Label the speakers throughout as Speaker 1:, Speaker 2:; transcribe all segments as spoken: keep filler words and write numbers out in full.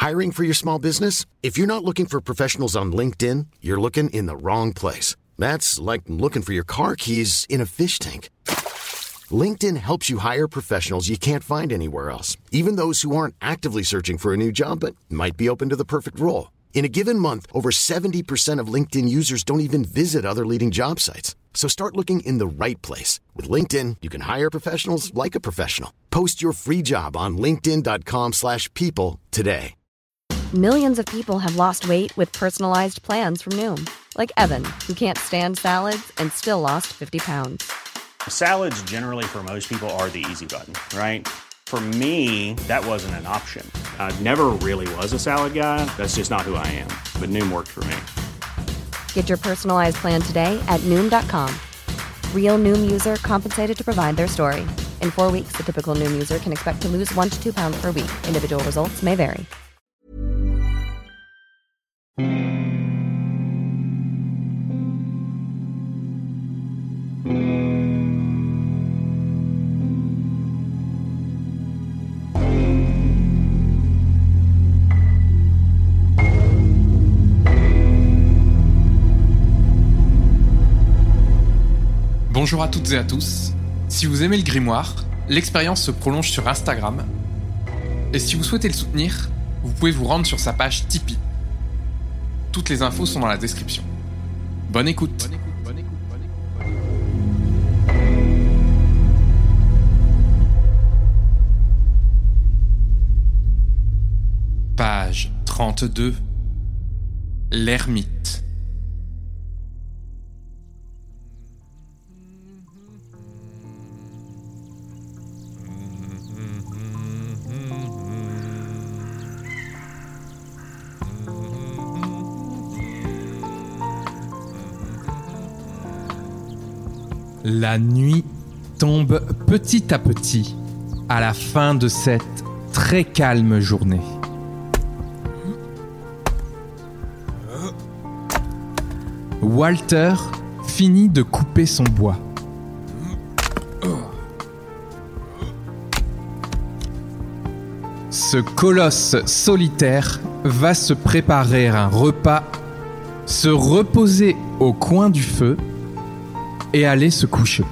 Speaker 1: Hiring for your small business? If you're not looking for professionals on LinkedIn, you're looking in the wrong place. That's like looking for your car keys in a fish tank. LinkedIn helps you hire professionals you can't find anywhere else, even those who aren't actively searching for a new job but might be open to the perfect role. In a given month, over seventy percent of LinkedIn users don't even visit other leading job sites. So start looking in the right place. With LinkedIn, you can hire professionals like a professional. Post your free job on linkedin.com slash people today.
Speaker 2: Millions of people have lost weight with personalized plans from Noom. Like Evan, who can't stand salads and still lost fifty pounds.
Speaker 3: Salads generally for most people are the easy button, right? For me, that wasn't an option. I never really was a salad guy. That's just not who I am. But Noom worked for me.
Speaker 2: Get your personalized plan today at Noom dot com. Real Noom user compensated to provide their story. In four weeks, the typical Noom user can expect to lose one to two pounds per week. Individual results may vary.
Speaker 4: Bonjour à toutes et à tous. Si vous aimez le grimoire, l'expérience se prolonge sur Instagram. Et si vous souhaitez le soutenir, vous pouvez vous rendre sur sa page Tipeee. Toutes les infos sont dans la description. Bonne écoute. Bonne écoute, bonne écoute, bonne écoute. Page trente-deux. L'ermite. La nuit tombe petit à petit à la fin de cette très calme journée. Walter finit de couper son bois. Ce colosse solitaire va se préparer un repas, se reposer au coin du feu et aller se coucher.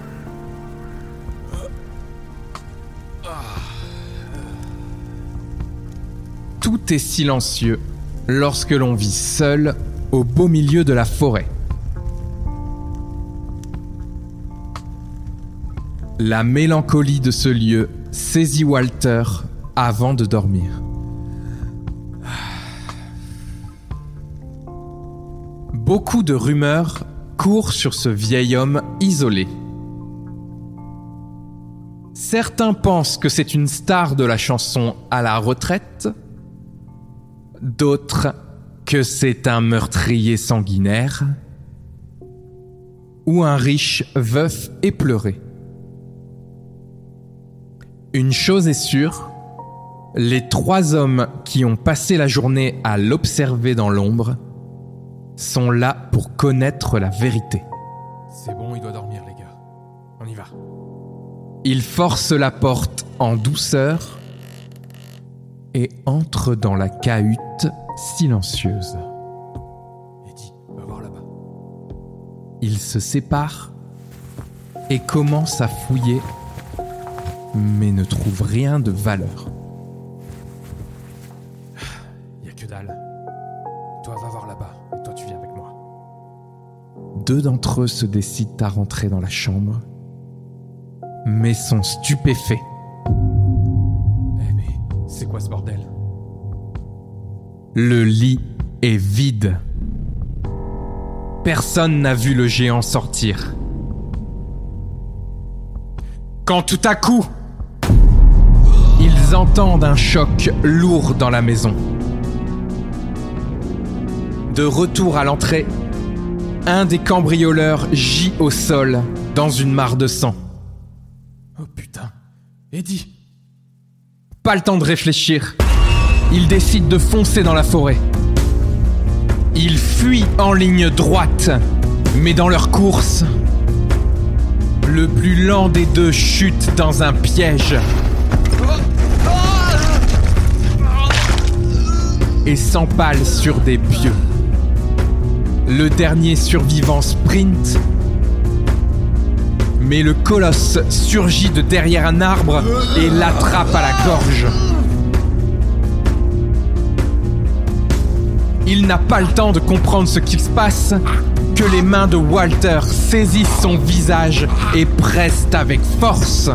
Speaker 4: Tout est silencieux lorsque l'on vit seul au beau milieu de la forêt. La mélancolie de ce lieu saisit Walter avant de dormir. Beaucoup de rumeurs courent sur ce vieil homme isolé. Certains pensent que c'est une star de la chanson à la retraite, d'autres que c'est un meurtrier sanguinaire ou un riche veuf éploré. Une chose est sûre, les trois hommes qui ont passé la journée à l'observer dans l'ombre sont là pour connaître la vérité.
Speaker 5: C'est bon, il doit dormir, les gars. On y va.
Speaker 4: Il force la porte en douceur et entre dans la cahute silencieuse.
Speaker 5: Eddie, va voir là-bas.
Speaker 4: Ils se séparent et commencent à fouiller, mais ne trouvent rien de valeur.
Speaker 5: Y a que dalle. Toi, va voir là-bas, et toi, tu viens avec moi.
Speaker 4: Deux d'entre eux se décident à rentrer dans la chambre, mais sont stupéfaits.
Speaker 5: Eh mais, c'est quoi ce bordel ?
Speaker 4: Le lit est vide. Personne n'a vu le géant sortir. Quand tout à coup, ils entendent un choc lourd dans la maison. De retour à l'entrée, un des cambrioleurs gît au sol dans une mare de sang.
Speaker 5: Oh putain, Eddie !
Speaker 4: Pas le temps de réfléchir. Ils décident de foncer dans la forêt. Ils fuient en ligne droite, mais dans leur course, le plus lent des deux chute dans un piège. et s'empale sur des pieux. Le dernier survivant sprint, mais le colosse surgit de derrière un arbre et l'attrape à la gorge. Il n'a pas le temps de comprendre ce qu'il se passe que les mains de Walter saisissent son visage et pressent avec force.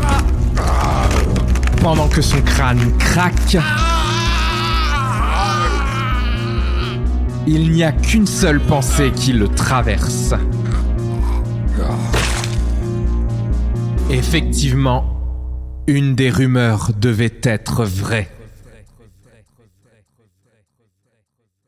Speaker 4: Pendant que son crâne craque, il n'y a qu'une seule pensée qui le traverse. Effectivement, une des rumeurs devait être vraie.